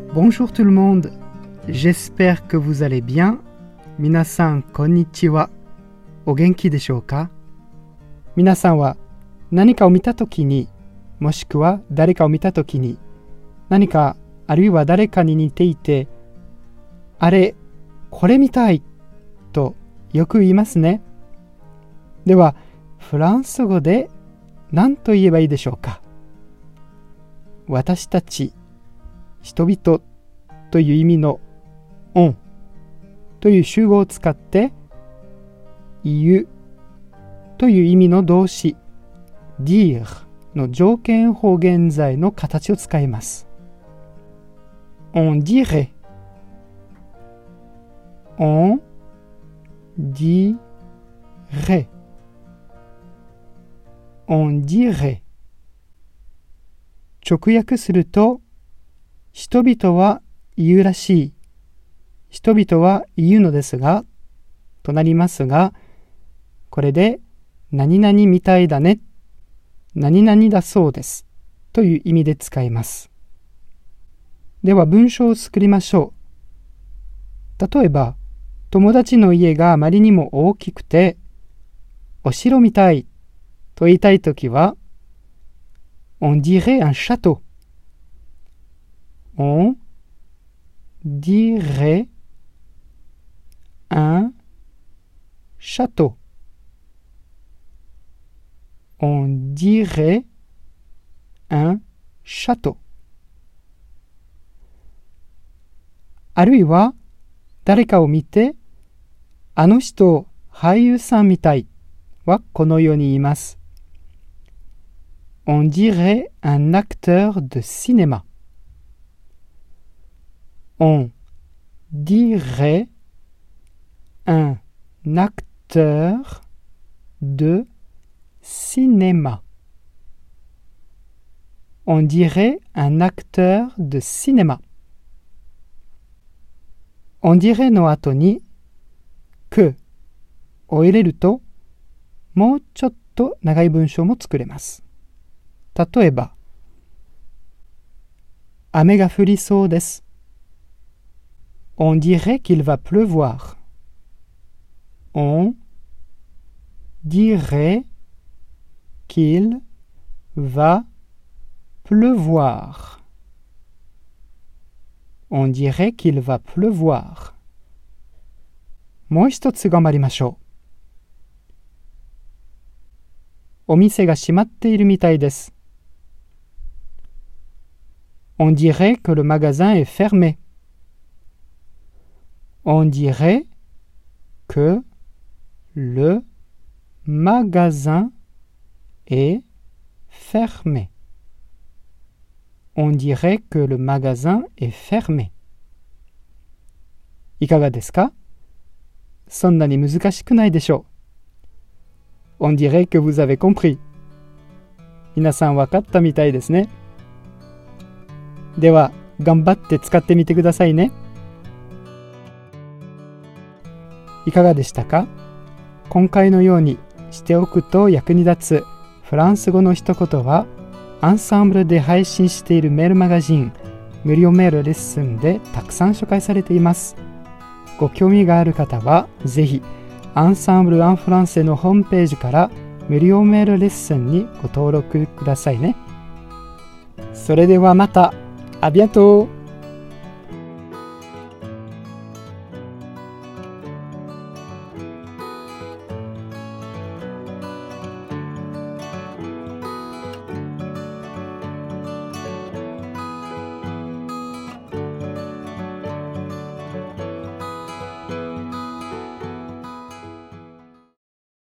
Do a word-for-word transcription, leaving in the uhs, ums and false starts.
Bonjour tout le monde. J'espère que vous allez bien. 皆さんこんにちは。お元気でしょうか？皆さんは何かを見たときに、もしくは誰かを見たときに、何かあるいは誰かに似ていて、あれ、これみたいとよく言いますね。では、フランス語で何と言えばいいでしょうか？私たち、人々という意味のオンという集合を使って言うという意味の動詞 dire の条件法現在の形を使います。On dirait On dirait On dirait 直訳すると、人々は言うらしい、人々は言うのですが、となりますが、これで何々みたいだね、何々だそうですという意味で使います。では文章を作りましょう。例えば、友達の家があまりにも大きくて、お城みたいと言いたいときは、On dirait un château. On dirait un château. On dirait un château. あるいは誰かを見て、あの人俳優さんみたいはこのように言います。On dirait un acteur de cinéma. On dirait un acteur de cinéma. On dirait un acteur de cinéma. On dirait の後に que を入れると、もうちょっと長い文章も作れます。例えば、雨が降りそうです。On dirait qu'il va pleuvoir. On dirait qu'il va pleuvoir. On dirait qu'il va pleuvoir. もう一つ頑張りましょう。お店が閉まっているみたいです。On dirait que le magasin est fermé. On dirait que le magasin est fermé. On dirait que le magasin est fermé. いかがですか？そんなに難しくないでしょう。On dirait que vous avez compris. 皆さん分かったみたいですね。では、頑張って使ってみてくださいね。いかがでしたか？今回のようにしておくと役に立つフランス語の一言は、アンサンブルで配信しているメールマガジン、無料メールレッスンでたくさん紹介されています。ご興味がある方は、ぜひ、アンサンブル・アン・フランセのホームページから無料メールレッスンにご登録くださいね。それではまた。À bientôt!